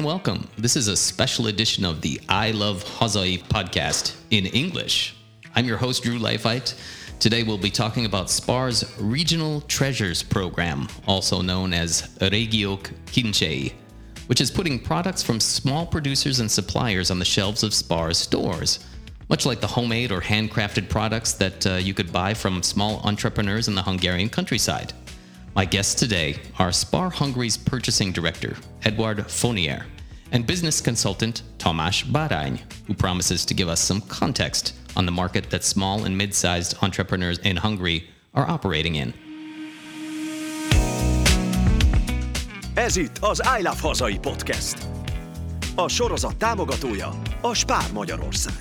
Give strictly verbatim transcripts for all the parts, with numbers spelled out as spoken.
and welcome. This is a special edition of the I Love Hazai podcast in English. I'm your host, Drew Leifheit. Today we'll be talking about SPAR's Regional Treasures program, also known as Regiok Kinchei, which is putting products from small producers and suppliers on the shelves of SPAR's stores, much like the homemade or handcrafted products that uh, you could buy from small entrepreneurs in the Hungarian countryside. My guests today are SPAR Hungary's purchasing director, Eduard Fonier, and business consultant, Tamás Bárány, who promises to give us some context on the market that small and mid-sized entrepreneurs in Hungary are operating in. Ez itt az I Love Hazai podcast. A sorozat támogatója a SPAR Magyarország.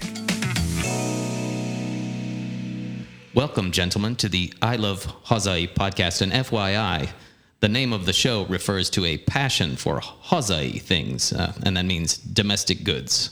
Welcome, gentlemen, to the I Love Hazai podcast. And F Y I, the name of the show refers to a passion for Hazai things, uh, and that means domestic goods.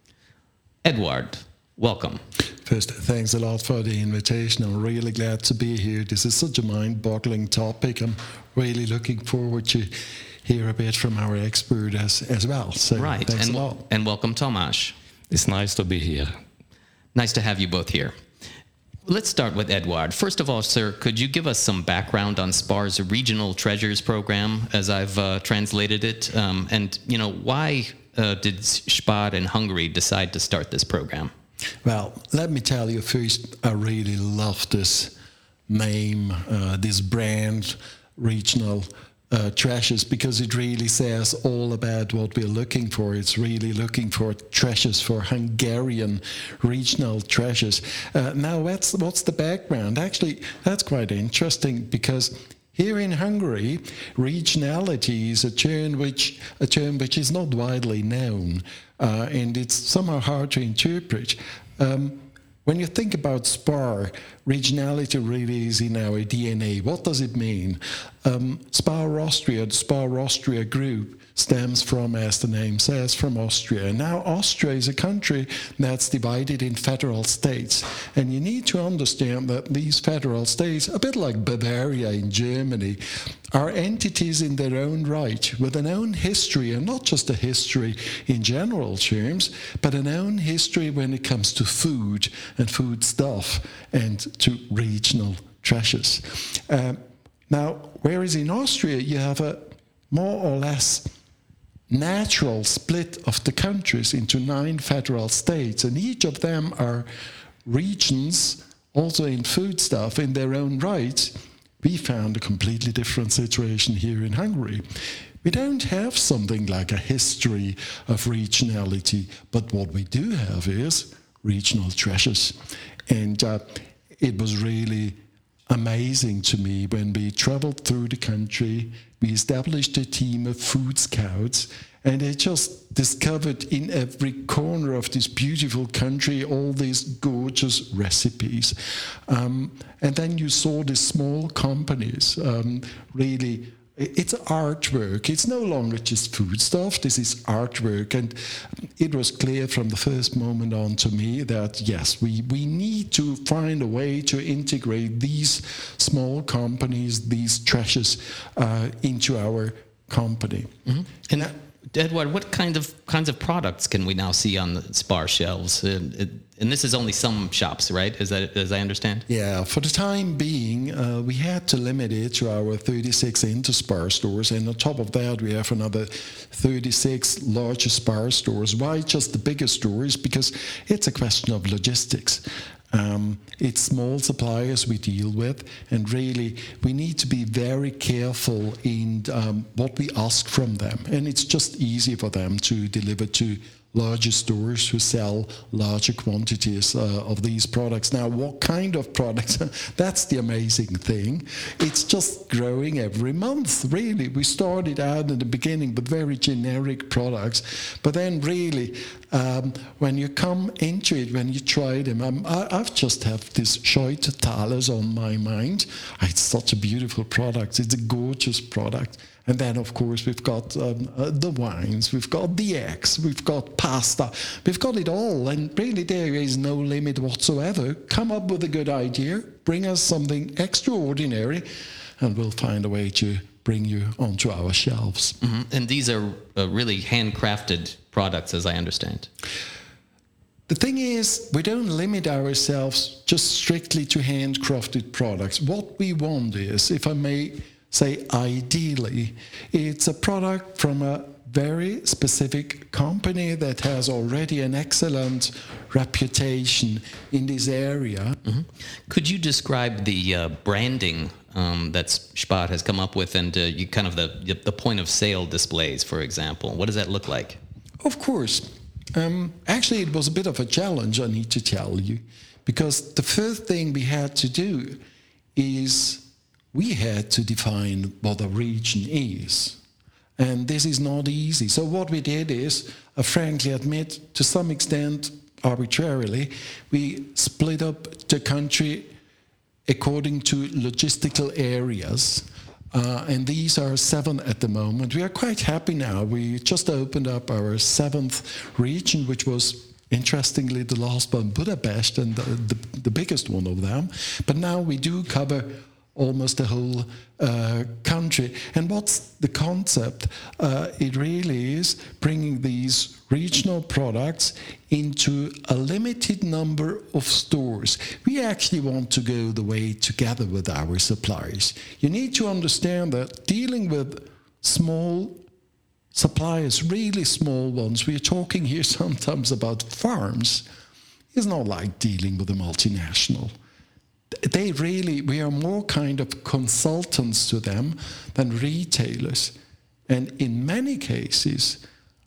Eduard, welcome. First, thanks a lot for the invitation. I'm really glad to be here. This is such a mind-boggling topic. I'm really looking forward to hear a bit from our expert as, as well. So right, thanks and, a lot. and welcome, Tamás. It's nice to be here. Nice to have you both here. Let's start with Eduard. First of all, sir, could you give us some background on SPAR's Regional Treasures program, as I've uh, translated it? Um, and, you know, why uh, did SPAR in Hungary decide to start this program? Well, let me tell you first, I really love this name, uh, this brand, Regional uh, Treasures, because it really says all about what we're looking for. It's really looking for treasures, for Hungarian regional treasures. Uh, now, what's, what's the background? Actually, that's quite interesting, because here in Hungary, regionality is a term which a term which is not widely known, uh, and it's somehow hard to interpret. Um, when you think about SPAR, regionality really is in our D N A. What does it mean? Um, SPAR Austria, the SPAR Austria group, stems from, as the name says, from Austria. Now, Austria is a country that's divided in federal states. And you need to understand that these federal states, a bit like Bavaria in Germany, are entities in their own right, with an own history, and not just a history in general terms, but an own history when it comes to food and food stuff and to regional treasures. Uh, now, whereas in Austria you have a more or less natural split of the countries into nine federal states, and each of them are regions, also in foodstuff, in their own right. We found a completely different situation here in Hungary. We don't have something like a history of regionality, but what we do have is regional treasures. And uh, it was really amazing to me when we traveled through the country. We established a team of food scouts, and they just discovered in every corner of this beautiful country all these gorgeous recipes. Um, and then you saw these small companies um, really. It's artwork. It's no longer just food stuff. This is artwork. And it was clear from the first moment on to me that, yes, we, we need to find a way to integrate these small companies, these treasures, uh, into our company. Mm-hmm. And that, Eduard, what kind of kinds of products can we now see on the SPAR shelves? Uh, it, and this is only some shops, right? Is that, as I understand? Yeah, for the time being, uh, we had to limit it to our thirty-six Interspar stores, and on top of that, we have another thirty-six larger SPAR stores. Why just the bigger stores? Because it's a question of logistics. Um, it's small suppliers we deal with, and really we need to be very careful in um, what we ask from them. And it's just easy for them to deliver to larger stores who sell larger quantities uh, of these products. Now, what kind of products? That's the amazing thing. It's just growing every month, really. We started out in the beginning with very generic products, but then really, um, when you come into it, when you try them, I'm, I, I've just have this Scheute Thalers on my mind. It's such a beautiful product. It's a gorgeous product. And then, of course, we've got um, uh, the wines, we've got the eggs, we've got pasta, we've got it all. And really, there is no limit whatsoever. Come up with a good idea, bring us something extraordinary, and we'll find a way to bring you onto our shelves. Mm-hmm. And these are uh, really handcrafted products, as I understand. The thing is, we don't limit ourselves just strictly to handcrafted products. What we want is, if I may say ideally, it's a product from a very specific company that has already an excellent reputation in this area. Mm-hmm. Could you describe the uh, branding um, that Spar has come up with, and uh, you kind of the the point of sale displays, for example? What does that look like? Of course. Um, actually, it was a bit of a challenge, I need to tell you, because the first thing we had to do is we had to define what a region is. And this is not easy. So what we did is, I frankly admit, to some extent, arbitrarily, we split up the country according to logistical areas. Uh, and these are seven at the moment. We are quite happy now. We just opened up our seventh region, which was, interestingly, the last one, Budapest, and the, the, the biggest one of them. But now we do cover almost the whole uh, country. And what's the concept? Uh, it really is bringing these regional products into a limited number of stores. We actually want to go the way together with our suppliers. You need to understand that dealing with small suppliers, really small ones, we're talking here sometimes about farms, is not like dealing with a multinational. They really, we are more kind of consultants to them than retailers. And in many cases,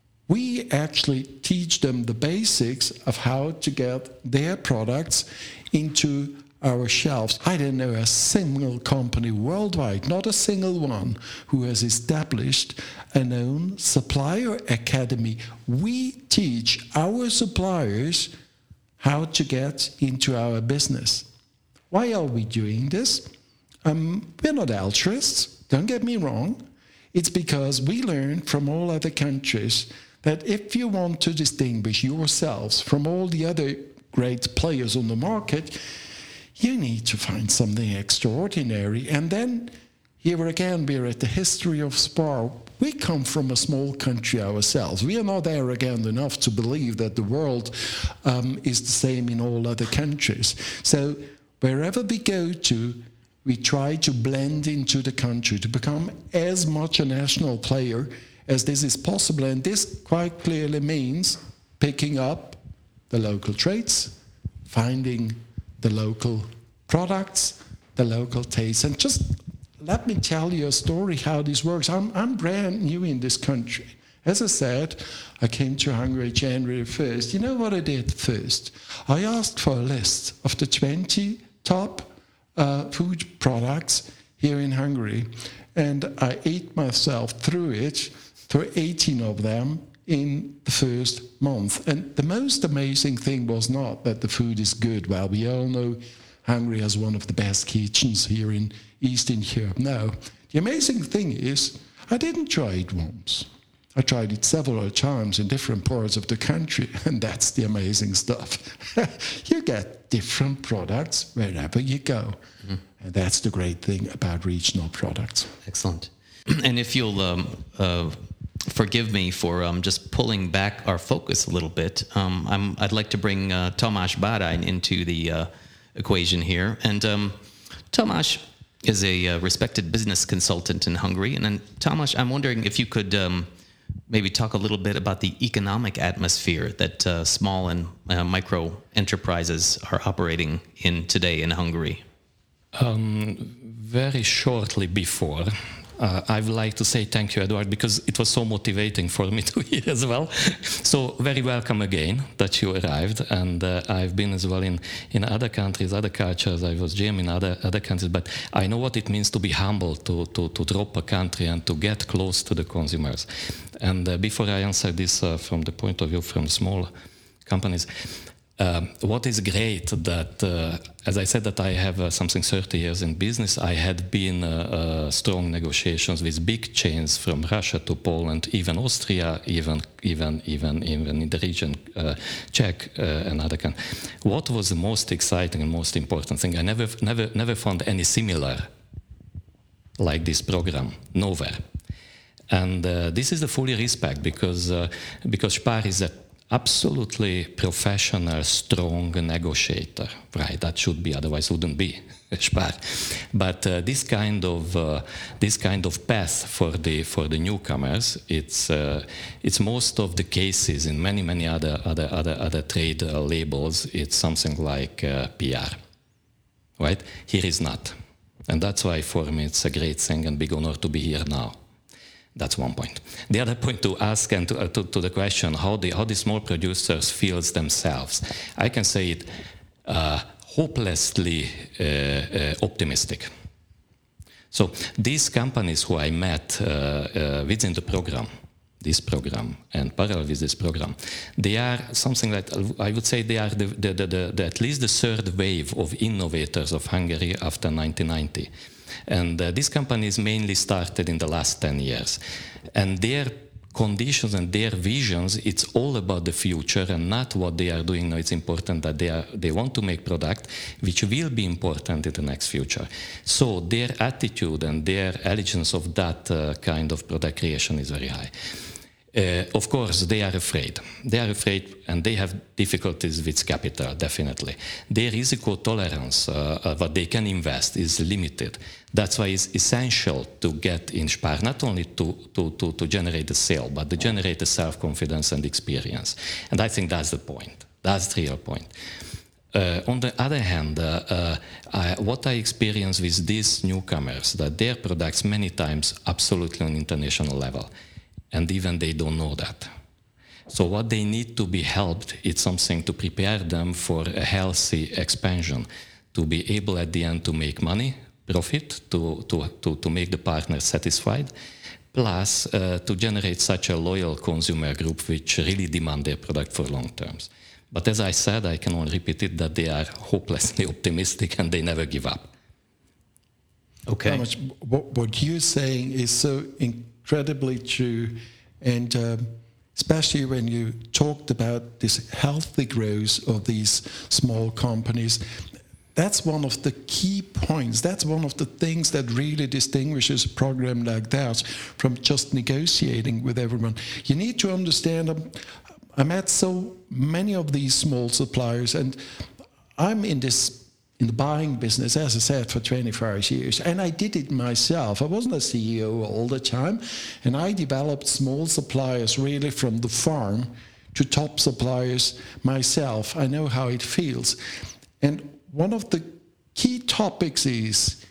we actually teach them the basics of how to get their products into our shelves. I don't know a single company worldwide, not a single one, who has established an own supplier academy. We teach our suppliers how to get into our business. Why are we doing this? Um, we're not altruists, don't get me wrong. It's because we learned from all other countries that if you want to distinguish yourselves from all the other great players on the market, you need to find something extraordinary. And then, here again, we're at the history of Spar. We come from a small country ourselves. We are not arrogant enough to believe that the world um, is the same in all other countries. So, wherever we go to, we try to blend into the country, to become as much a national player as this is possible. And this quite clearly means picking up the local traits, finding the local products, the local tastes. And just let me tell you a story how this works. I'm, I'm brand new in this country. As I said, I came to Hungary January first. You know what I did first? I asked for a list of the twenty top uh, food products here in Hungary, and I ate myself through it, through eighteen of them in the first month. And the most amazing thing was not that the food is good. Well, we all know Hungary has one of the best kitchens here in Eastern Europe. No, the amazing thing is I didn't try it once. I tried it several times in different parts of the country, and that's the amazing stuff. You get different products wherever you go. Mm-hmm. And that's the great thing about regional products. Excellent. And if you'll um, uh, forgive me for um, just pulling back our focus a little bit, um, I'm, I'd like to bring uh, Tamás Bárány into the uh, equation here. And um, Tamás is a uh, respected business consultant in Hungary. And then, Tamás, I'm wondering if you could um, maybe talk a little bit about the economic atmosphere that uh, small and uh, micro enterprises are operating in today in Hungary. Um, very shortly before, uh, I would like to say thank you, Eduard, because it was so motivating for me to hear as well. So very welcome again that you arrived, and uh, I've been as well in, in other countries, other cultures. I was G M in other other countries, but I know what it means to be humble, to, to, to drop a country and to get close to the consumers. And uh, before I answer this uh, from the point of view from small companies, Uh, what is great that, uh, as I said, that I have uh, something thirty years in business, I had been uh, uh, strong negotiations with big chains from Russia to Poland, even Austria, even even even even in the region, uh, Czech uh, and other countries. What was the most exciting and most important thing? I never never never found any similar like this program, nowhere. And uh, this is the fully respect, because uh, because Spar is an absolutely professional, strong negotiator, right? That should be, otherwise wouldn't be Spar. But uh, this kind of uh, this kind of path for the for the newcomers, it's uh, it's most of the cases in many many other other other other trade uh, labels. It's something like uh, P R, right? Here is not, and that's why for me it's a great thing and big honor to be here now. That's one point. The other point to ask and to, uh, to, to the question how the how the small producers feels themselves, I can say it uh, hopelessly uh, uh, optimistic. So these companies who I met uh, uh, within the program, this program and parallel with this program, they are something like, I would say they are the, the, the, the, the, at least the third wave of innovators of Hungary after nineteen ninety. And uh, these companies mainly started in the last ten years. And their conditions and their visions, it's all about the future and not what they are doing now. It's important that they are they want to make product which will be important in the next future. So their attitude and their allegiance of that uh, kind of product creation is very high. Uh, of course, they are afraid. They are afraid and they have difficulties with capital, definitely. Their risiko tolerance, uh, uh, what they can invest, is limited. That's why it's essential to get in Spar, not only to, to, to, to generate the sale, but to generate the self-confidence and experience. And I think that's the point. That's the real point. Uh, on the other hand, uh, uh, I, what I experience with these newcomers, that their products many times absolutely on international level. And even they don't know that. So what they need to be helped is something to prepare them for a healthy expansion, to be able at the end to make money, profit, to, to, to, to make the partner satisfied, plus uh, to generate such a loyal consumer group which really demand their product for long terms. But as I said, I can only repeat it, that they are hopelessly optimistic and they never give up. Okay. Much, what, what you're saying is so incredibly true, and um, especially when you talked about this healthy growth of these small companies, that's one of the key points. That's one of the things that really distinguishes a program like that from just negotiating with everyone. You need to understand, um, I met so many of these small suppliers, and I'm in this in the buying business, as I said, for twenty-five years. And I did it myself. I wasn't a C E O all the time. And I developed small suppliers really from the farm to top suppliers myself. I know how it feels. And one of the key topics is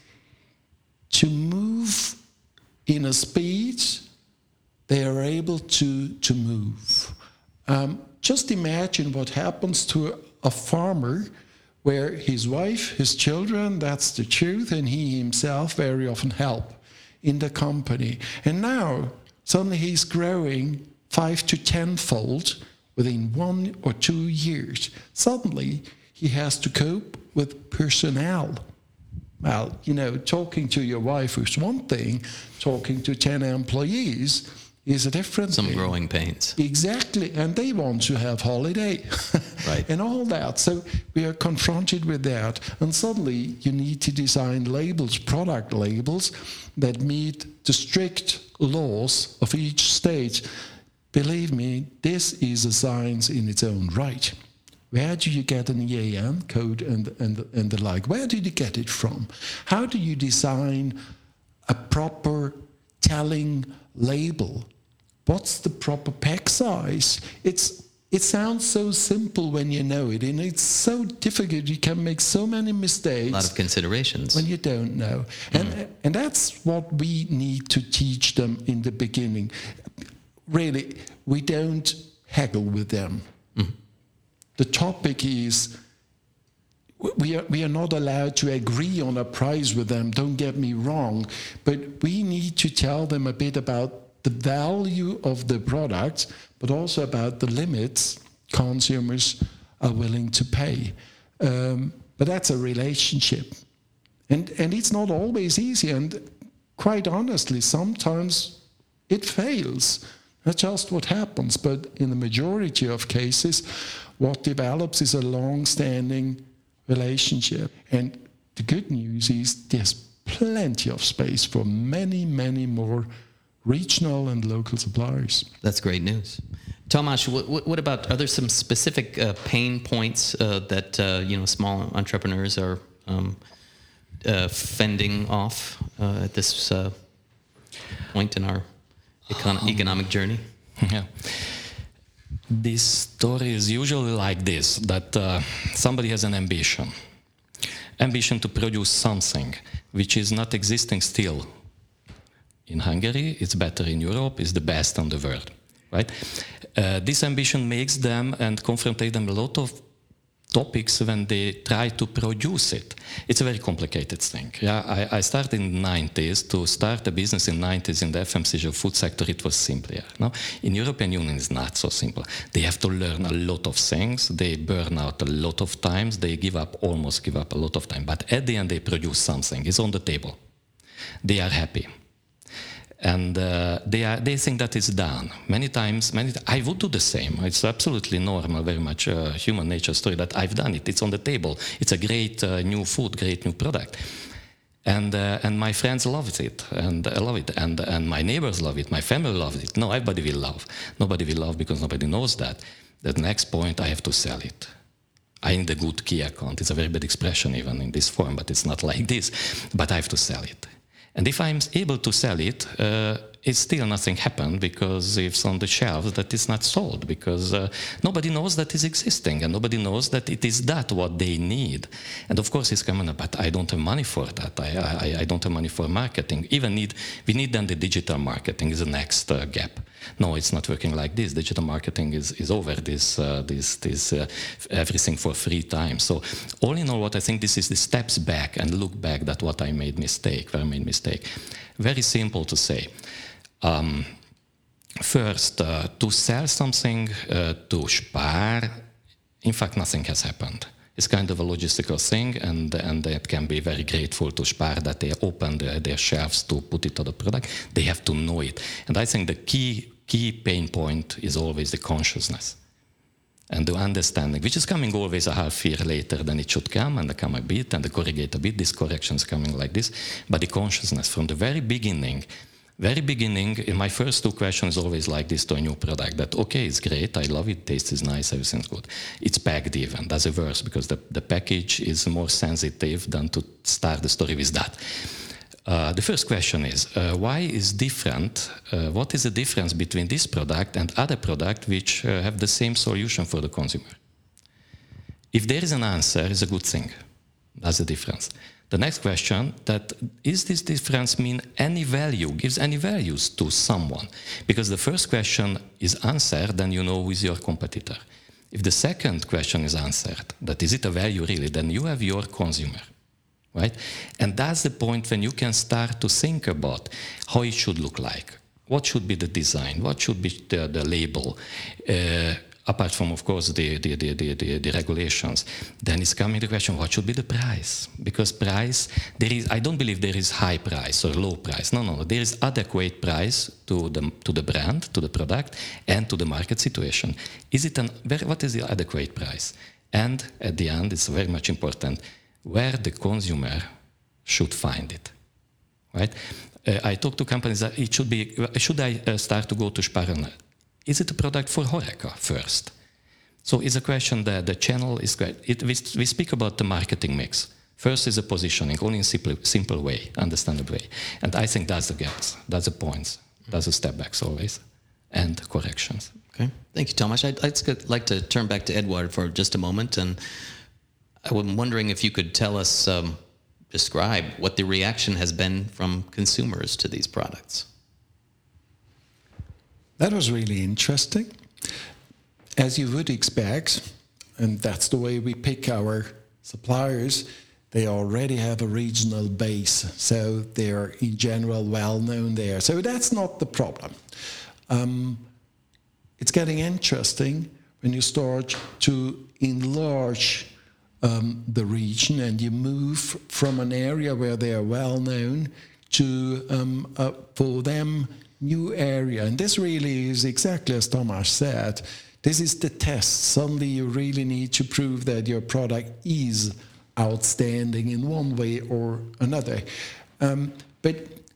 to move in a speed they are able to, to move. Um, just imagine what happens to a farmer where his wife, his children, that's the truth, and he himself very often help in the company. And now, suddenly he's growing five to tenfold within one or two years. Suddenly, he has to cope with personnel. Well, you know, talking to your wife is one thing, talking to ten employees is a different Some thing. growing pains. Exactly, and they want to have holiday. Right. And all that. So we are confronted with that, and suddenly you need to design labels, product labels, that meet the strict laws of each state. Believe me, this is a science in its own right. Where do you get an E A N code and, and, and the like? Where did you get it from? How do you design a proper telling label? What's the proper pack size? It's It sounds so simple when you know it, and it's so difficult. You can make so many mistakes. A lot of considerations. When you don't know. And, mm. and that's what we need to teach them in the beginning. Really, we don't haggle with them. Mm. The topic is, we are, we are not allowed to agree on a price with them, don't get me wrong, but we need to tell them a bit about the value of the product, but also about the limits consumers are willing to pay. Um, but that's a relationship. And, and it's not always easy, and quite honestly, sometimes it fails. That's just what happens, but in the majority of cases, what develops is a long-standing relationship. And the good news is there's plenty of space for many, many more regional and local suppliers. That's great news. Tomasz, what, what about, are there some specific uh, pain points uh, that, uh, you know, small entrepreneurs are um, uh, fending off uh, at this uh, point in our econ- economic journey? Yeah. This story is usually like this, that uh, somebody has an ambition. Ambition to produce something which is not existing still in Hungary, it's better in Europe, it's the best in the world, right? Uh, this ambition makes them and confrontate them a lot of topics when they try to produce it. It's a very complicated thing. Yeah, I, I started in the nineties. To start a business in the nineties in the F M C G food sector, it was simpler. No? In European Union, it's not so simple. They have to learn a lot of things. They burn out a lot of times. They give up, almost give up a lot of time. But at the end, they produce something. It's on the table. They are happy. And uh, they are, they think that it's done. Many times, many t- I would do the same. It's absolutely normal, very much uh, human nature story that I've done it. It's on the table. It's a great uh, new food, great new product. And uh, and my friends love it, and I love it, and and my neighbors love it, my family loves it. No, everybody will love. Nobody will love because nobody knows that. The next point, I have to sell it. I need a good key account. It's a very bad expression even in this form, but it's not like this. But I have to sell it. And if I'm able to sell it, uh, it's still nothing happened because it's on the shelves that it's not sold because uh, nobody knows that it's existing and nobody knows that it is that what they need. And of course it's coming up, but I don't have money for that. I, I, I don't have money for marketing. Even need, we need then the digital marketing is the next uh, gap. No, it's not working like this. Digital marketing is, is over this, uh, this, this uh, everything for free time. So all in all, what I think this is the steps back and look back that what I made mistake, where I made mistake. Very simple to say. Um, first, uh, to sell something uh, to Spar, in fact, nothing has happened. It's kind of a logistical thing, and and it can be very grateful to Spar that they open their, their shelves to put it on the product. They have to know it. And I think the key key pain point is always the consciousness and the understanding, which is coming always a half year later than it should come, and they come a bit, and they corrigate a bit. This correction is coming like this. But the consciousness from the very beginning, Very beginning, in my first two questions always like this to a new product, that okay, it's great, I love it, taste is nice, everything's good. It's packed even, that's a worse, because the, the package is more sensitive than to start the story with that. Uh, the first question is, uh, why is different, uh, what is the difference between this product and other product which uh, have the same solution for the consumer? If there is an answer, it's a good thing. That's the difference. The next question, that is this difference mean any value, gives any values to someone? Because the first question is answered, then you know who is your competitor. If the second question is answered, that is it a value really, then you have your consumer, right? And that's the point when you can start to think about how it should look like. What should be the design? What should be the, the label? Uh, apart from, of course, the, the, the, the, the, the regulations, then it's coming the question, what should be the price? Because price, there is, I don't believe there is high price or low price. No, no, no. There is adequate price to the, to the brand, to the product, and to the market situation. Is it an, what is the adequate price? And at the end, it's very much important, where the consumer should find it, right? Uh, I talk to companies that it should be, should I uh, start to go to Spar? Is it a product for HoReCa first? So it's a question that the channel is great. It, we, we speak about the marketing mix. First is the positioning, only in simple, simple way, understandable way. And I think that's the gaps, that's the points, that's the step backs always, and corrections. Okay, thank you, Tomasz. I'd, I'd like to turn back to Edward for just a moment, and I'm wondering if you could tell us, um, describe what the reaction has been from consumers to these products. That was really interesting. As you would expect, and that's the way we pick our suppliers, they already have a regional base, so they're in general well known there. So that's not the problem. Um, it's getting interesting when you start to enlarge um, the region and you move from an area where they are well known to, um, uh, for them, new area. And this really is exactly as Tomasz said. This is the test. Suddenly you really need to prove that your product is outstanding in one way or another. Um, but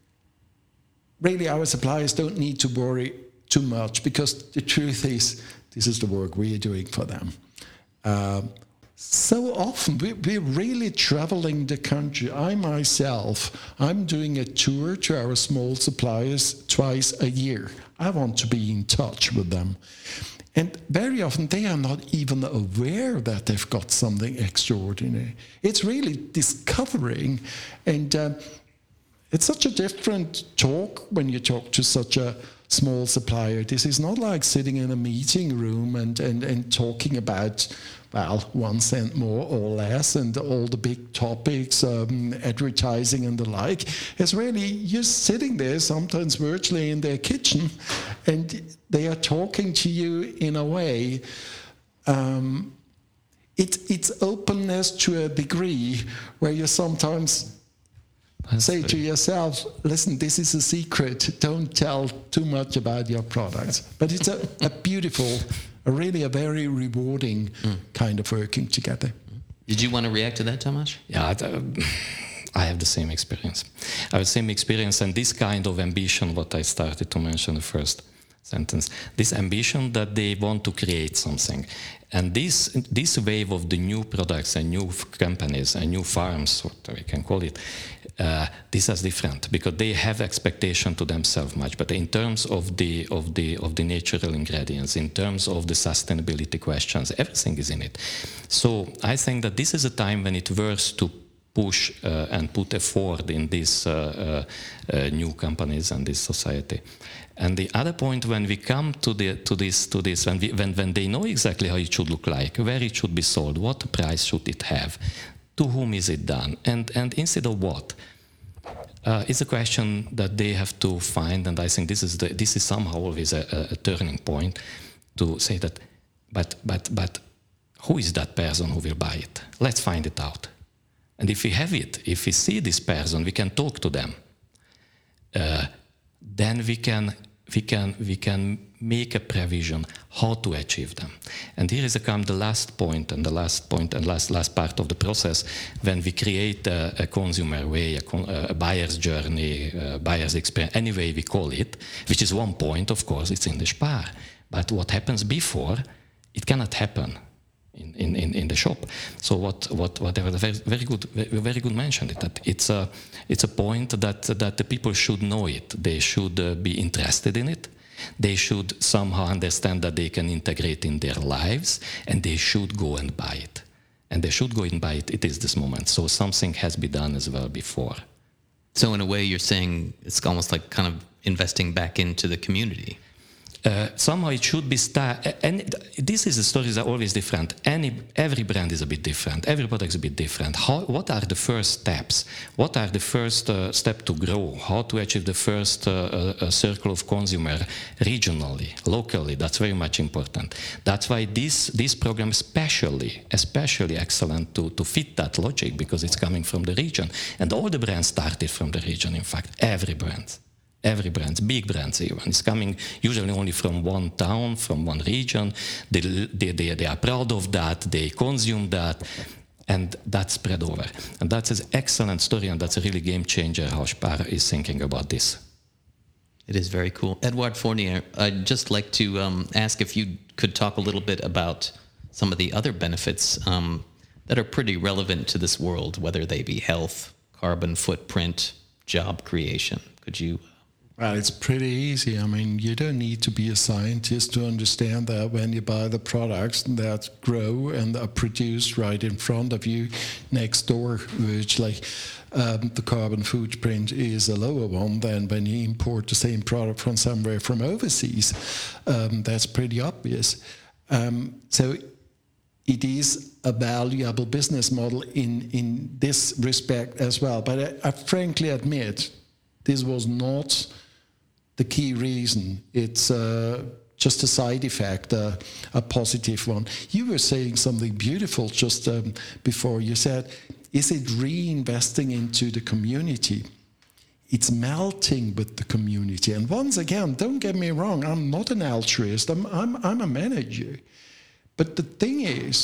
really, our suppliers don't need to worry too much, because the truth is, this is the work we are doing for them. Uh, so often, we, we're really traveling the country. I myself, I'm doing a tour to our small suppliers twice a year. I want to be in touch with them. And very often, they are not even aware that they've got something extraordinary. It's really discovering, and uh, it's such a different talk when you talk to such a small supplier. This is not like sitting in a meeting room and, and, and talking about, well, one cent more or less and all the big topics, um, advertising and the like. It's really, you're sitting there sometimes virtually in their kitchen, and they are talking to you in a way. Um, it, it's openness to a degree where you sometimes That's say to yourself, listen, this is a secret. Don't tell too much about your products. But it's a, a beautiful, a really a very rewarding mm. kind of working together. Did you want to react to that, Tamás? Yeah, I have the same experience. I have the same experience, and this kind of ambition, what I started to mention in the first sentence, this ambition that they want to create something. And this this wave of the new products and new companies and new farms, what we can call it, uh, this is different, because they have expectation to themselves much. But in terms of the of the of the natural ingredients, in terms of the sustainability questions, everything is in it. So I think that this is a time when it works to push uh, and put effort in these uh, uh, uh, new companies and this society. And the other point, when we come to the to this to this, when we, when when they know exactly how it should look like, where it should be sold, what price should it have, to whom is it done, and and instead of what, uh, it's a question that they have to find. And I think this is the, this is somehow always a, a turning point to say that, but but but who is that person who will buy it? Let's find it out. And if we have it, if we see this person, we can talk to them. Uh, then we can we can we can make a provision how to achieve them. And here is a come the last point and the last point and last last part of the process, when we create a, a consumer way, a, con, a buyer's journey, a buyer's experience, any way we call it, which is one point, of course, it's in the Spar. But what happens before, it cannot happen in, in, in, in the shop. So what what whatever the very, very good very good mentioned it, that it's a it's a point that that the people should know it. They should uh, be interested in it. They should somehow understand that they can integrate in their lives, and they should go and buy it. And they should go and buy it. It is this moment. So something has been done as well before. So in a way, you're saying it's almost like kind of investing back into the community. Uh, somehow it should be start, and this is the stories are always different. Any every brand is a bit different. Every product is a bit different. How? What are the first steps? What are the first uh, step to grow? How to achieve the first uh, uh, circle of consumer regionally, locally? That's very much important. That's why this this program especially especially excellent to to fit that logic, because it's coming from the region, and all the brands started from the region. In fact, every brand. Every brand, big brands even, is coming usually only from one town, from one region. They, they, they, they are proud of that, they consume that, and that spread over. And that's an excellent story, and that's a really game changer how Spar is thinking about this. It is very cool. Edouard Fournier, I'd just like to um, ask if you could talk a little bit about some of the other benefits um, that are pretty relevant to this world, whether they be health, carbon footprint, job creation. Could you... Well, it's pretty easy. I mean, you don't need to be a scientist to understand that when you buy the products that grow and are produced right in front of you, next door, which like um, the carbon footprint is a lower one than when you import the same product from somewhere from overseas. Um, that's pretty obvious. Um, so it is a valuable business model in, in this respect as well. But I, I frankly admit, this was not the key reason. It's uh, just a side effect, uh, a positive one. You were saying something beautiful just um, before. You said, is it reinvesting into the community? It's melting with the community. And once again, don't get me wrong, I'm not an altruist, I'm, I'm, I'm a manager. But the thing is,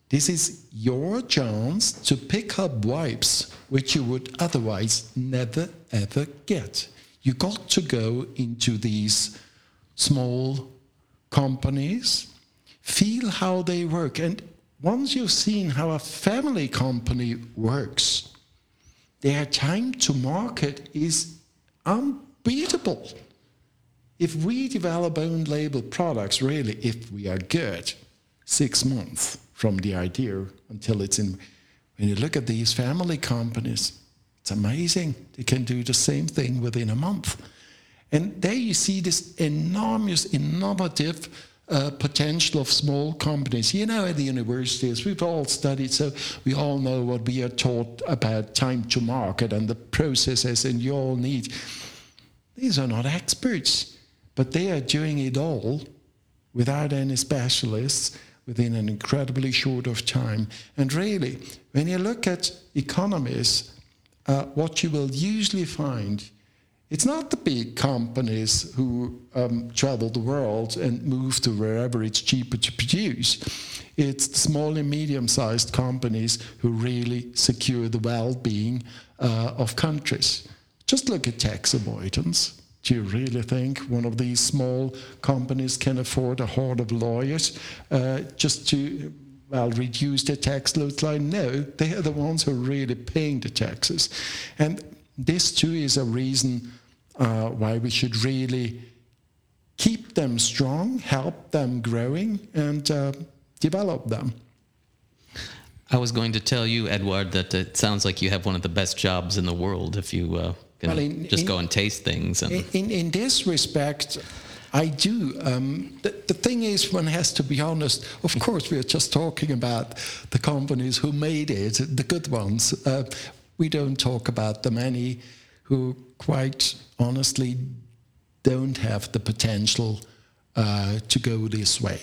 This is your chance to pick up vibes which you would otherwise never ever get. You got to go into these small companies, feel how they work, and once you've seen how a family company works, their time to market is unbeatable. If we develop own label products, really, if we are good, six months from the idea until it's in. When you look at these family companies, it's amazing. They can do the same thing within a month. And there you see this enormous, innovative uh, potential of small companies. You know, at the universities, we've all studied, so we all know what we are taught about time to market and the processes, and you all need. These are not experts, but they are doing it all without any specialists within an incredibly short of time. And really, when you look at economies, uh, what you will usually find, it's not the big companies who um, travel the world and move to wherever it's cheaper to produce. It's the small and medium-sized companies who really secure the well-being uh, of countries. Just look at tax avoidance. Do you really think one of these small companies can afford a horde of lawyers uh, just to, well, reduce their tax loads line? No, they are the ones who are really paying the taxes. And this, too, is a reason uh, why we should really keep them strong, help them growing, and uh, develop them. I was going to tell you, Edouard, that it sounds like you have one of the best jobs in the world if you uh, can well, in, just in, go and taste things. And in, in this respect, I do. Um, the, the thing is, one has to be honest. Of course, we are just talking about the companies who made it, the good ones. Uh, we don't talk about the many who, quite honestly, don't have the potential uh, to go this way.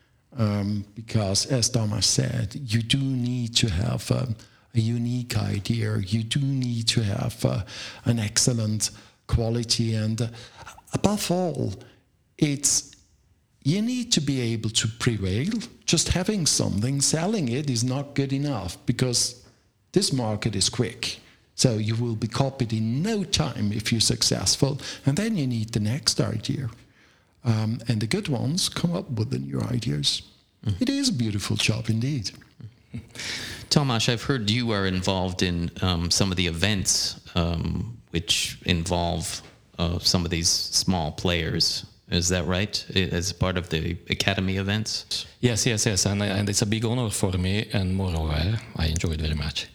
Um, because, as Thomas said, you do need to have um, a unique idea. You do need to have uh, an excellent quality. And uh, above all, it's you need to be able to prevail. Just having something, selling it is not good enough because this market is quick. So you will be copied in no time if you're successful. And then you need the next idea. Um, and the good ones come up with the new ideas. Mm. It is a beautiful job indeed. Tomasz, I've heard you are involved in um, some of the events um, which involve uh, some of these small players. Is that right? As part of the Academy events? Yes, yes, yes. And, and it's a big honor for me. And moreover, I enjoy it very much.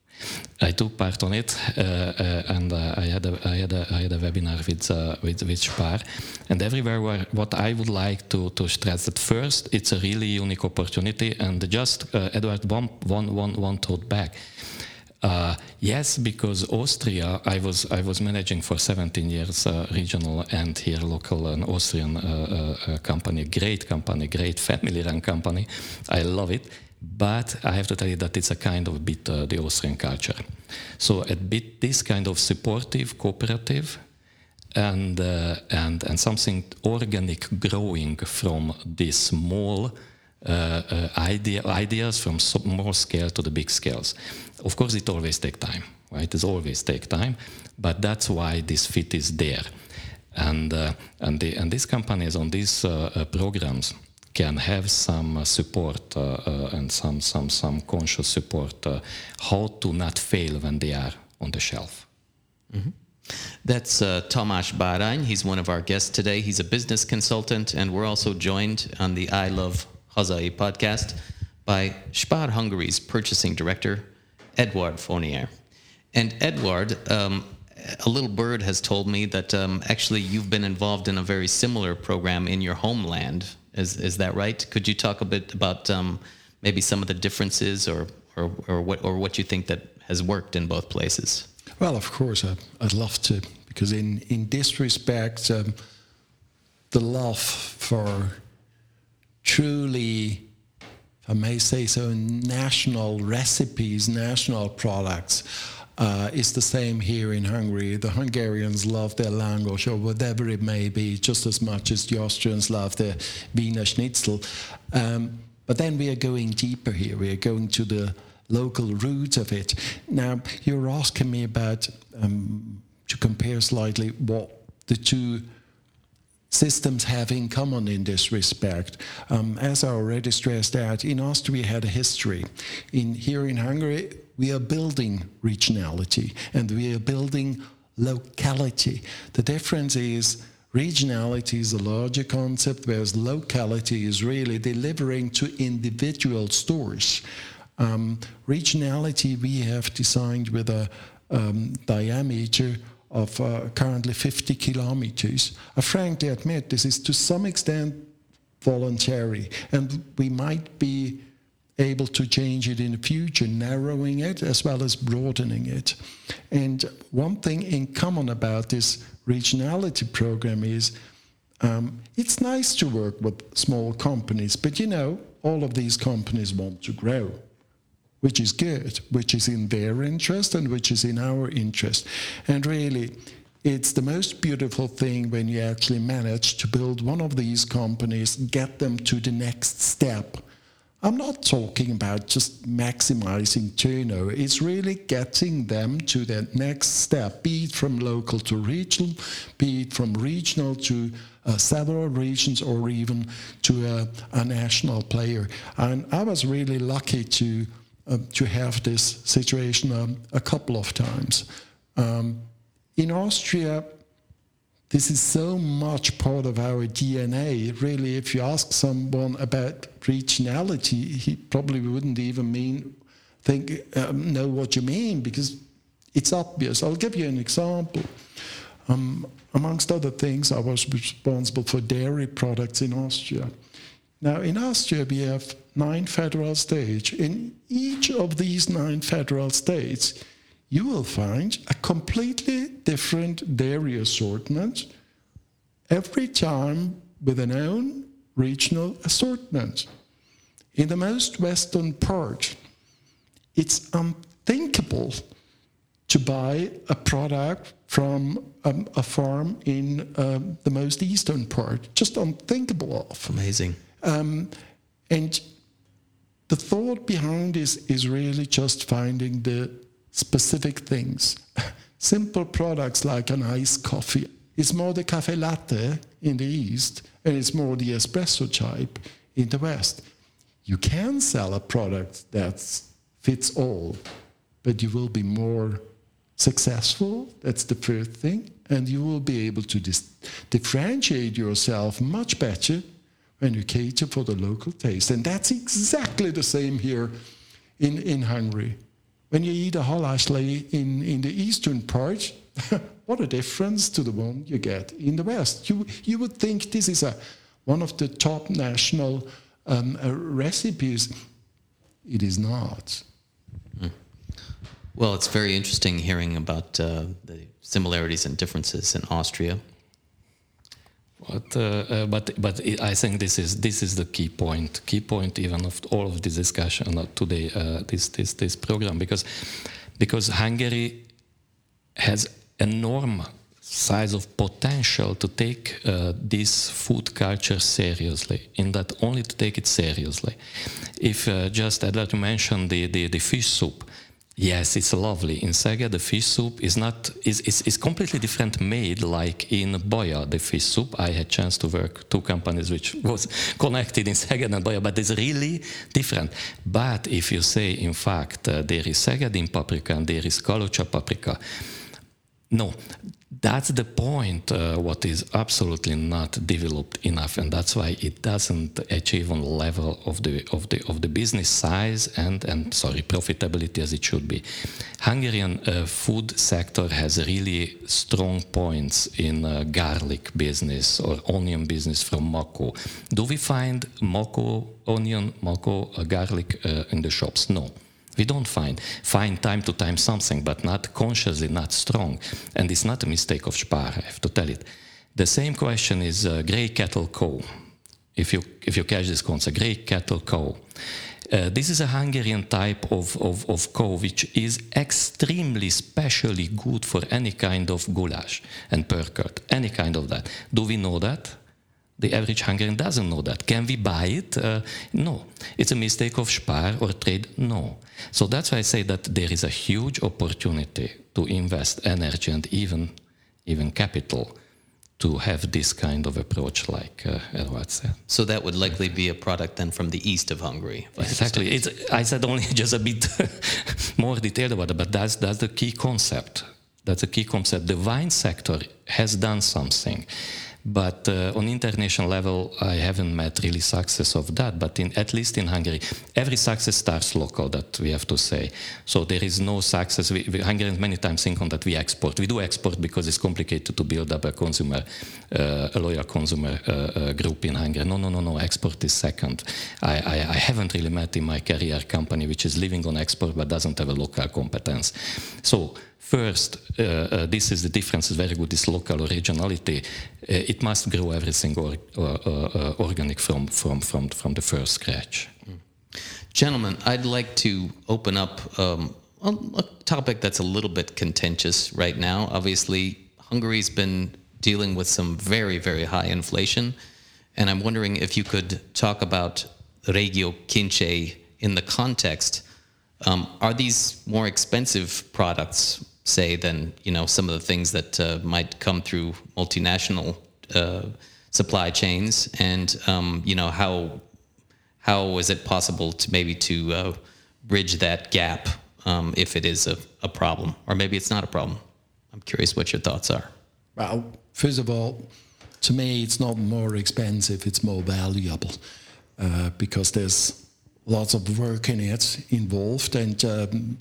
I took part on it, uh, uh, and uh, I had a I had a I had a webinar with uh, with with Spar, and everywhere where what I would like to to stress that first, it's a really unique opportunity, and just uh, Edouard one one one one thought back. Uh, yes, because Austria, I was I was managing for seventeen years uh, regional and here local an Austrian uh, uh, company, great company, great family-run company. I love it. But I have to tell you that it's a kind of bit uh, the Austrian culture. So a bit this kind of supportive, cooperative, and uh, and and something organic growing from these small uh, uh, idea, ideas from small scale to the big scales. Of course, it always takes time, right? It always takes time, but that's why this fit is there, and uh, and the and these companies on these uh, uh, programs can have some uh, support uh, uh, and some some some conscious support uh, how to not fail when they are on the shelf. Mm-hmm. That's uh, Tomasz Bárány. He's one of our guests today. He's a business consultant, and we're also joined on the I Love Hazai podcast by Spar Hungary's purchasing director, Edouard Fournier. And Edouard, um, a little bird has told me that um, actually you've been involved in a very similar program in your homeland. Is is that right? Could you talk a bit about um, maybe some of the differences, or, or or what or what you think that has worked in both places? Well, of course, I'd, I'd love to, because in in this respect, um, the love for truly, if I may say so, national recipes, national products. Uh, is the same here in Hungary. The Hungarians love their langosh, or whatever it may be, just as much as the Austrians love their Wiener Schnitzel. Um, But then we are going deeper here. We are going to the local roots of it. Now, you're asking me about, um, to compare slightly, what the two systems have in common in this respect. Um, as I already stressed out, in Austria we had a history. In, here in Hungary, we are building regionality and we are building locality. The difference is regionality is a larger concept, whereas locality is really delivering to individual stores. Um, regionality we have designed with a um, diameter of uh, currently fifty kilometers. I frankly admit this is to some extent voluntary, and we might be able to change it in the future, narrowing it as well as broadening it. And one thing in common about this regionality program is um, it's nice to work with small companies, but you know, all of these companies want to grow, which is good, which is in their interest and which is in our interest. And really, it's the most beautiful thing when you actually manage to build one of these companies, get them to the next step. I'm not talking about just maximizing turnover. It's really getting them to that next step, be it from local to regional, be it from regional to uh, several regions, or even to a, a national player. And I was really lucky to uh, to have this situation um, a couple of times. Um, in Austria, this is so much part of our D N A. Really, if you ask someone about regionality, he probably wouldn't even mean think um, know what you mean, because it's obvious. I'll give you an example. Um, amongst other things, I was responsible for dairy products in Austria. Now, in Austria, we have nine federal states. In each of these nine federal states, you will find a completely different dairy assortment every time with an own regional assortment. In the most western part, it's unthinkable to buy a product from um, a farm in um, the most eastern part. Just unthinkable of. Amazing. Um, and the thought behind this is really just finding the specific things. Simple products like an iced coffee. It's more the cafe latte in the East, and it's more the espresso type in the West. You can sell a product that fits all, but you will be more successful, that's the first thing, and you will be able to dis- differentiate yourself much better when you cater for the local taste. And that's exactly the same here in, in Hungary. When you eat a halászlé in, in the eastern part, what a difference to the one you get in the West. You, you would think this is a, one of the top national um, uh, recipes. It is not. Mm. Well, it's very interesting hearing about uh, the similarities and differences in Austria. But, uh, uh, but but I think this is this is the key point, key point even of all of this discussion today, uh, this this this program, because because Hungary has enormous size of potential to take uh, this food culture seriously. In that, only to take it seriously. If uh, just I'd like to mention the, the the fish soup. Yes, it's lovely. In Szeged, the fish soup is not is, is is completely different made, like in Baja, the fish soup. I had chance to work two companies which was connected in Szeged and Baja, but it's really different. But if you say, in fact, uh, there is Szegedin paprika and there is Kalocsa paprika, no, that's the point. Uh, what is absolutely not developed enough, and that's why it doesn't achieve on the level of the of the of the business size and and sorry profitability as it should be. Hungarian uh, food sector has really strong points in uh, garlic business or onion business from Mako. Do we find Mako onion, Mako uh, garlic uh, in the shops? No. We don't find. Find time to time something, but not consciously, not strong. And it's not a mistake of Spar, I have to tell it. The same question is uh, grey cattle cow. If you if you catch this concept, grey cattle cow. Uh, this is a Hungarian type of, of, of cow which is extremely specially good for any kind of goulash and pörkölt, any kind of that. Do we know that? The average Hungarian doesn't know that. Can we buy it? Uh, no. It's a mistake of Spar or trade? No. So that's why I say that there is a huge opportunity to invest energy and even, even capital to have this kind of approach like uh, Eduard said. So that would likely be a product then from the east of Hungary. If I Exactly. It's, I said only just a bit more detailed about it, but that's, that's the key concept. That's a key concept. The wine sector has done something. But uh, on international level, I haven't met really success of that. But in, at least in Hungary, every success starts local, that we have to say. So there is no success. We, we, Hungarians many times think on that we export. We do export because it's complicated to build up a consumer, uh, a loyal consumer uh, uh, group in Hungary. No, no, no, no. Export is second. I, I, I haven't really met in my career a company which is living on export but doesn't have a local competence. So first, uh, uh, this is the difference, is very good, this local originality. Uh, it must grow everything or, or, uh, organic from, from, from, from the first scratch. Mm. Gentlemen, I'd like to open up um, a, a topic that's a little bit contentious right now. Obviously, Hungary's been dealing with some very, very high inflation, and I'm wondering if you could talk about Régió Kincsé in the context. Um, are these more expensive products, say, than you know some of the things that uh, might come through multinational uh, supply chains? And um, you know how how is it possible to maybe to uh, bridge that gap um, if it is a, a problem, or maybe it's not a problem? I'm curious what your thoughts are. Well, first of all, to me, it's not more expensive; it's more valuable uh, because there's lots of work in it involved, and um,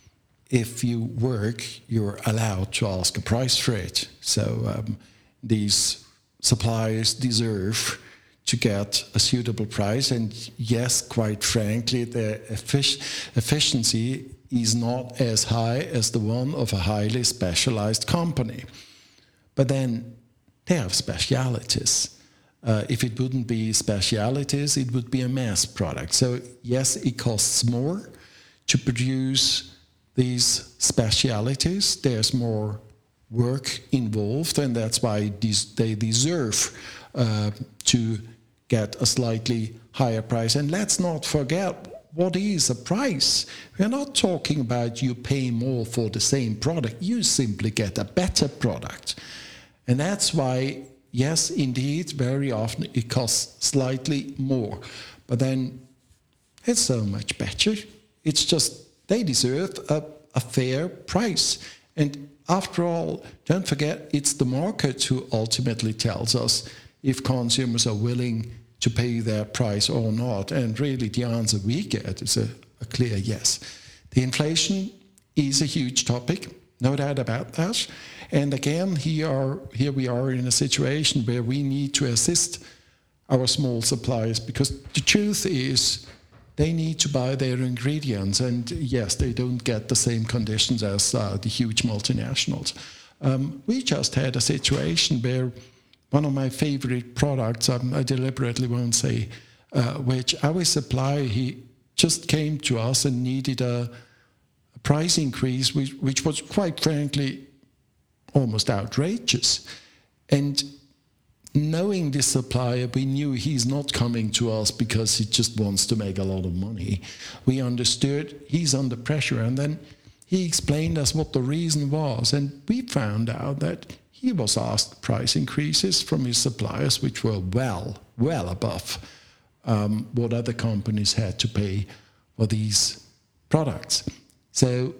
if you work, you're allowed to ask a price for it. So um, these suppliers deserve to get a suitable price, and yes, quite frankly, the effic- efficiency is not as high as the one of a highly specialized company. But then they have specialities. Uh, if it wouldn't be specialities, it would be a mass product. So yes, it costs more to produce these specialities. There's more work involved, and that's why these, they deserve uh, to get a slightly higher price. And let's not forget, what is a price? We're not talking about you pay more for the same product. You simply get a better product. And that's why, yes, indeed, very often it costs slightly more. But then it's so much better. It's just they deserve a, a fair price. And after all, don't forget, it's the market who ultimately tells us if consumers are willing to pay their price or not. And really the answer we get is a, a clear yes. The inflation is a huge topic, no doubt about that. And again, here, are, here we are in a situation where we need to assist our small suppliers, because the truth is they need to buy their ingredients, and yes, they don't get the same conditions as uh, the huge multinationals. Um, we just had a situation where one of my favorite products, um, I deliberately won't say uh, which, our supplier, he just came to us and needed a, a price increase, which, which was quite frankly almost outrageous. And knowing this supplier, we knew he's not coming to us because he just wants to make a lot of money. We understood he's under pressure, and then he explained us what the reason was, and we found out that he was asked price increases from his suppliers, which were well, well above um, what other companies had to pay for these products. So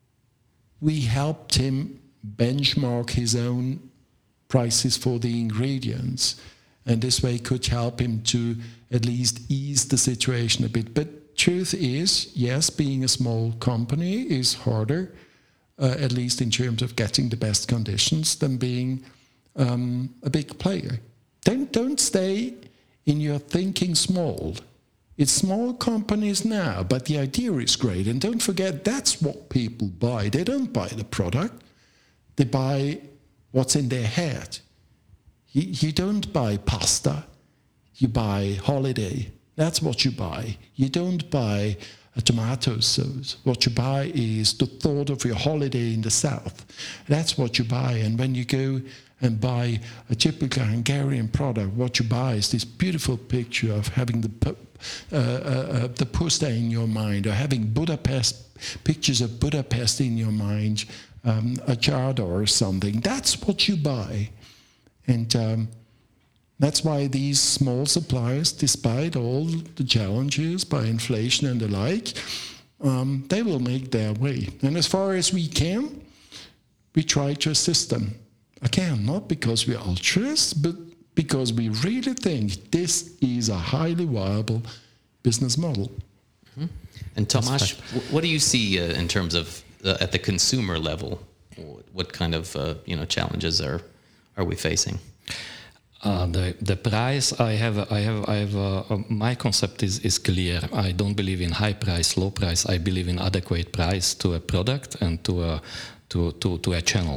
we helped him benchmark his own prices for the ingredients, and this way could help him to at least ease the situation a bit. But truth is, yes, being a small company is harder, uh, at least in terms of getting the best conditions, than being um, a big player. Don't, don't stay in your thinking small. It's small companies now, but the idea is great. And don't forget, that's what people buy. They don't buy the product. They buy what's in their head. You, you don't buy pasta, you buy holiday. That's what you buy. You don't buy a tomato sauce. What you buy is the thought of your holiday in the south. That's what you buy. And when you go and buy a typical Hungarian product, what you buy is this beautiful picture of having the uh, uh, uh, the Puszta in your mind, or having Budapest, pictures of Budapest in your mind, um, a Jada or something. That's what you buy. And um, that's why these small suppliers, despite all the challenges by inflation and the like, um, they will make their way. And as far as we can, we try to assist them. Again, not because we're altruists, but because we really think this is a highly viable business model. Mm-hmm. And Tomasz, what do you see uh, in terms of uh, at the consumer level? What kind of uh, you know challenges are are we facing? Uh, the the price I have I have I have uh, uh, my concept is is clear. I don't believe in high price, low price. I believe in adequate price to a product and to a to to, to a channel.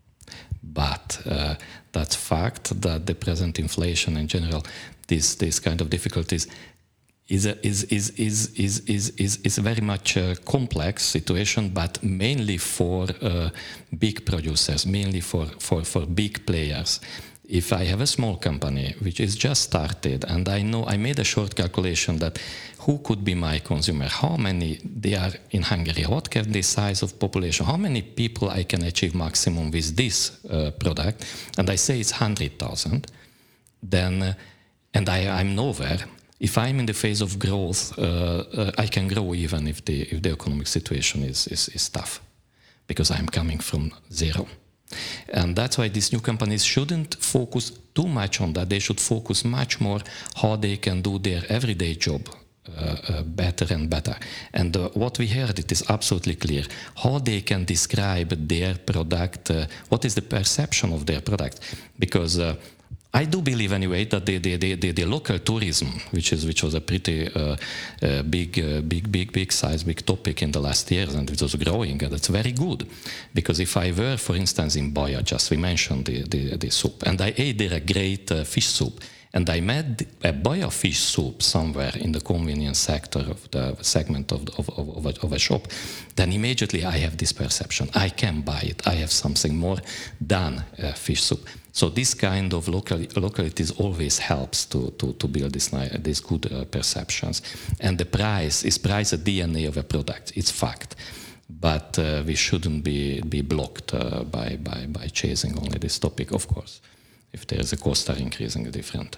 But uh, that's fact that the present inflation in general, this this kind of difficulties, is a, is is is is is is is a very much a complex situation, but mainly for uh, big producers, mainly for for for big players. If I have a small company which is just started, and I know I made a short calculation that who could be my consumer, how many they are in Hungary, what can the size of population, how many people I can achieve maximum with this uh, product, and I say it's one hundred thousand, then, uh, and I, I'm nowhere. If I'm in the phase of growth, uh, uh, I can grow even if the if the economic situation is, is, is tough, because I'm coming from zero. And that's why these new companies shouldn't focus too much on that. They should focus much more how they can do their everyday job uh, uh, better and better. And uh, what we heard, it is absolutely clear, how they can describe their product, uh, what is the perception of their product. Because uh, I do believe anyway that the the, the, the, the local tourism, which is which was a pretty uh, uh, big uh, big big big size big topic in the last years, and it was growing, and that's very good. Because if I were, for instance, in Baja, just we mentioned the, the, the soup, and I ate there a great uh, fish soup, and I met a Baja fish soup somewhere in the convenience sector of the segment of of, of, of, a, of a shop, then immediately I have this perception: I can buy it. I have something more than uh, fish soup. So this kind of local, localities always helps to, to, to build this, these good uh, perceptions. And the price, is price a D N A of a product? It's fact. But uh, we shouldn't be, be blocked uh, by, by, by chasing only this topic, of course. If there is a cost are increasing, different.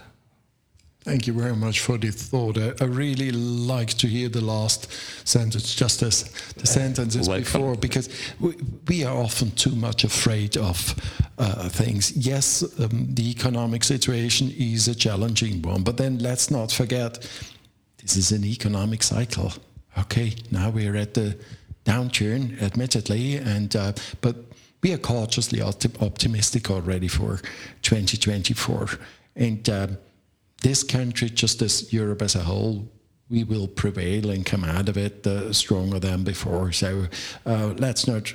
Thank you very much for the thought. I, I really like to hear the last sentence, just as the sentences Welcome. before, because we, we are often too much afraid of uh, things. Yes, um, the economic situation is a challenging one, but then let's not forget, this is an economic cycle. Okay, now we're at the downturn, admittedly, and uh, but we are cautiously opti- optimistic already for twenty twenty-four. And uh, this country, just as Europe as a whole, we will prevail and come out of it uh, stronger than before. So uh, let's not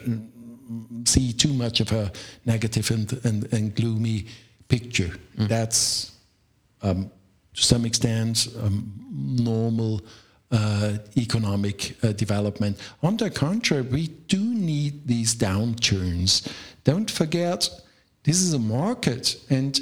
see too much of a negative and, and, and gloomy picture. Mm. That's, um, to some extent, um, normal uh, economic uh, development. On the contrary, we do need these downturns. Don't forget, this is a market, and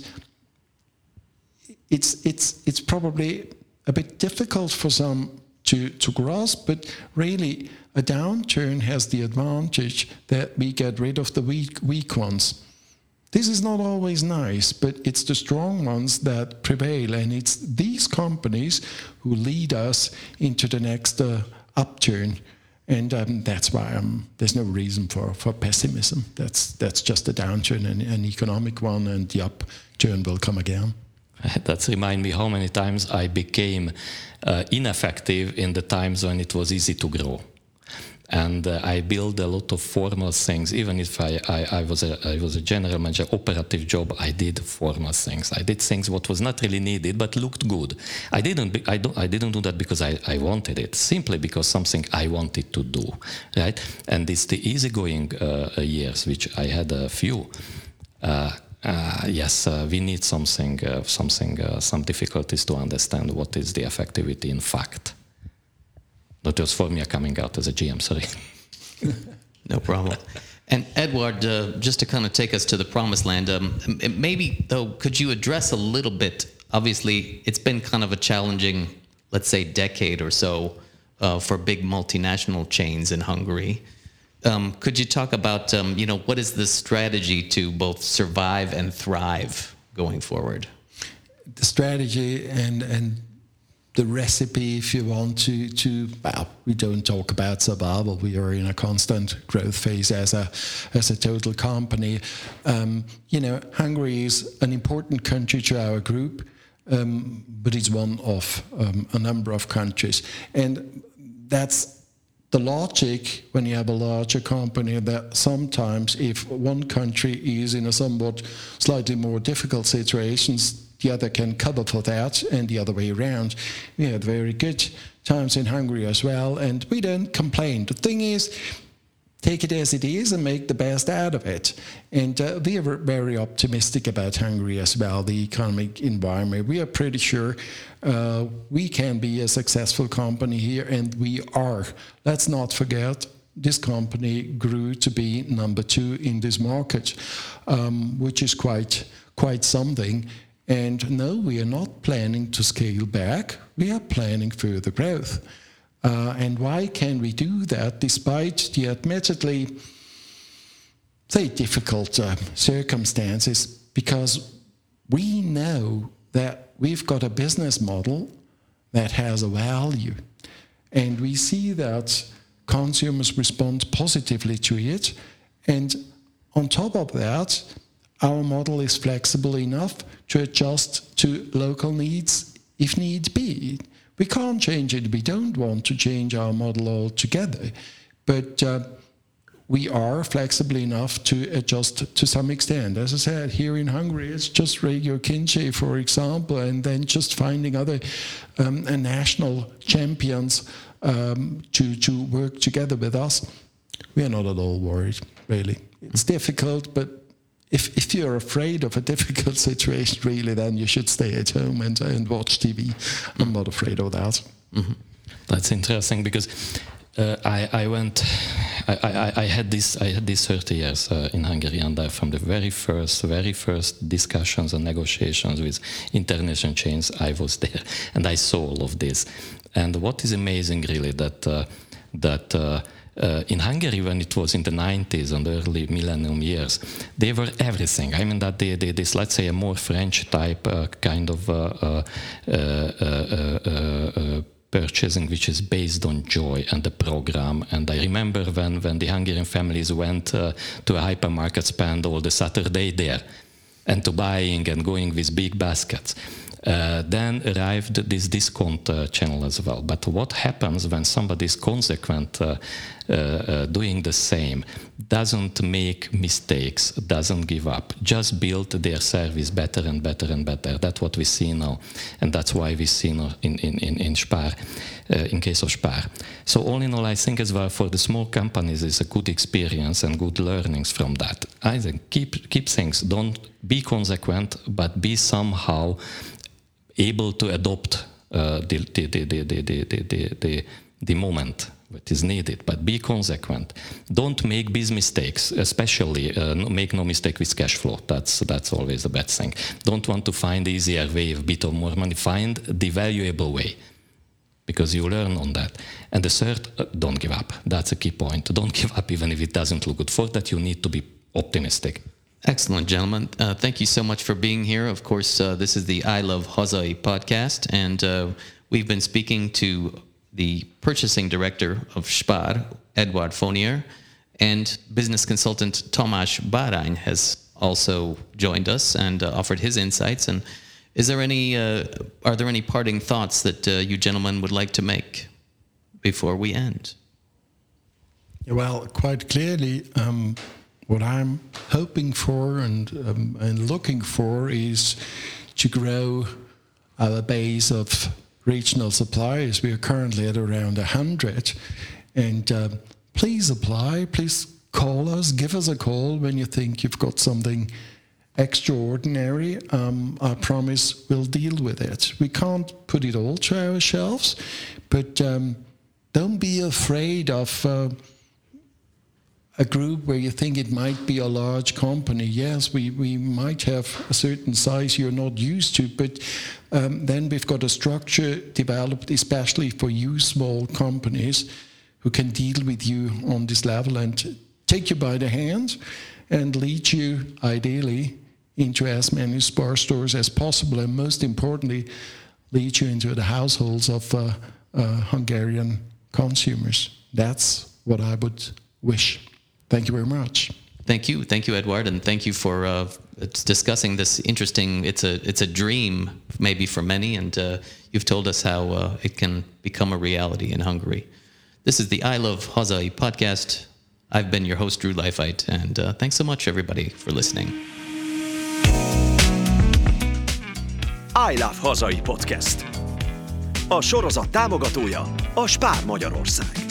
It's it's it's probably a bit difficult for some to, to grasp, but really a downturn has the advantage that we get rid of the weak weak ones. This is not always nice, but it's the strong ones that prevail, and it's these companies who lead us into the next uh, upturn. And um, that's why um, there's no reason for, for pessimism. That's that's just a downturn, an, an economic one, and the upturn will come again. That reminds me how many times I became uh, ineffective in the times when it was easy to grow. And uh, I built a lot of formal things. Even if I, I, I was a I was a general manager, operative job, I did formal things. I did things what was not really needed but looked good. I didn't be, I don't I didn't do that because I, I wanted it, simply because something I wanted to do, right? And it's the easygoing uh, years, which I had a few. Uh, Uh, yes, uh, we need something, uh, something, uh, some difficulties to understand what is the effectivity in fact. That was for me coming out as a G M, sorry. No problem. And Edward, uh, just to kind of take us to the promised land, um, maybe, though, could you address a little bit, obviously, it's been kind of a challenging, let's say, decade or so uh, for big multinational chains in Hungary. Um, could you talk about, um, you know, what is the strategy to both survive and thrive going forward? The strategy and and the recipe, if you want to, to well, we don't talk about survival. We are in a constant growth phase as a as a total company. Um, you know, Hungary is an important country to our group, um, but it's one of um, a number of countries, and that's the logic when you have a larger company, that sometimes if one country is in a somewhat slightly more difficult situations, the other can cover for that, and the other way around. We had very good times in Hungary as well, and we don't complain. The thing is, take it as it is and make the best out of it. And uh, we are very optimistic about Hungary as well, the economic environment. We are pretty sure uh, we can be a successful company here, and we are. Let's not forget, this company grew to be number two in this market, um, which is quite quite something. And no, we are not planning to scale back. We are planning further growth. Uh, and why can we do that despite the admittedly, say, difficult uh, circumstances? Because we know that we've got a business model that has a value. And we see that consumers respond positively to it. And on top of that, our model is flexible enough to adjust to local needs if need be. We can't change it. We don't want to change our model altogether. But uh, we are flexible enough to adjust to some extent. As I said, here in Hungary, it's just Regio Kincsy, for example, and then just finding other um, national champions um, to, to work together with us. We are not at all worried, really. It's difficult, but If, if you're afraid of a difficult situation, really, then you should stay at home and, and watch T V. I'm not afraid of that. Mm-hmm. That's interesting because uh, I, I went, I, I, I had this, I had these thirty years uh, in Hungary, and I, from the very first, very first discussions and negotiations with international chains, I was there, and I saw all of this. And what is amazing, really, that uh, that. Uh, Uh, in Hungary, when it was in the nineties and early millennium years, they were everything. I mean that they, they this, let's say, a more French type uh, kind of uh, uh, uh, uh, uh, uh, purchasing, which is based on joy and the program. And I remember when, when the Hungarian families went uh, to a hypermarket, spend all the Saturday there, and to buying and going with big baskets. Uh, then arrived this discount uh, channel as well. But what happens when somebody is consequent, uh, uh, uh, doing the same, doesn't make mistakes, doesn't give up, just build their service better and better and better. That's what we see now, and that's why we see now in in in, in Spar, uh, in case of Spar. So all in all, I think as well for the small companies is a good experience and good learnings from that. I think keep keep things, don't be consequent, but be somehow able to adopt uh, the, the, the, the, the, the, the, the, the moment that is needed, but be consequent. Don't make big mistakes, especially uh, make no mistake with cash flow. That's that's always a bad thing. Don't want to find the easier way, a bit of more money. Find the valuable way, because you learn on that. And the third, uh, don't give up. That's a key point. Don't give up even if it doesn't look good. For that, you need to be optimistic. Excellent, gentlemen. Uh, thank you so much for being here. Of course, uh, this is the I Love Hazai podcast, and uh, we've been speaking to the purchasing director of Spar, Edward Fournier, and business consultant Tamás Bárány has also joined us and uh, offered his insights. And is there any, uh, are there any parting thoughts that uh, you gentlemen would like to make before we end? Well, quite clearly, um, what I'm hoping for and um, and looking for is to grow our base of regional suppliers. We are currently at around one hundred. And uh, please apply, please call us, give us a call when you think you've got something extraordinary. Um, I promise we'll deal with it. We can't put it all to our shelves, but um, don't be afraid of... Uh, a group where you think it might be a large company. Yes, we, we might have a certain size you're not used to, but um, then we've got a structure developed especially for you small companies who can deal with you on this level and take you by the hand and lead you, ideally, into as many Spar stores as possible, and most importantly, lead you into the households of uh, uh, Hungarian consumers. That's what I would wish. Thank you very much. Thank you, thank you, Eduard, and thank you for uh, discussing this interesting. It's a it's a dream maybe for many, and uh, you've told us how uh, it can become a reality in Hungary. This is the I Love Hazai podcast. I've been your host, Drew Leifheit, and uh, thanks so much, everybody, for listening. I Love Hazai Podcast. A sorozat támogatója a Spar Magyarország.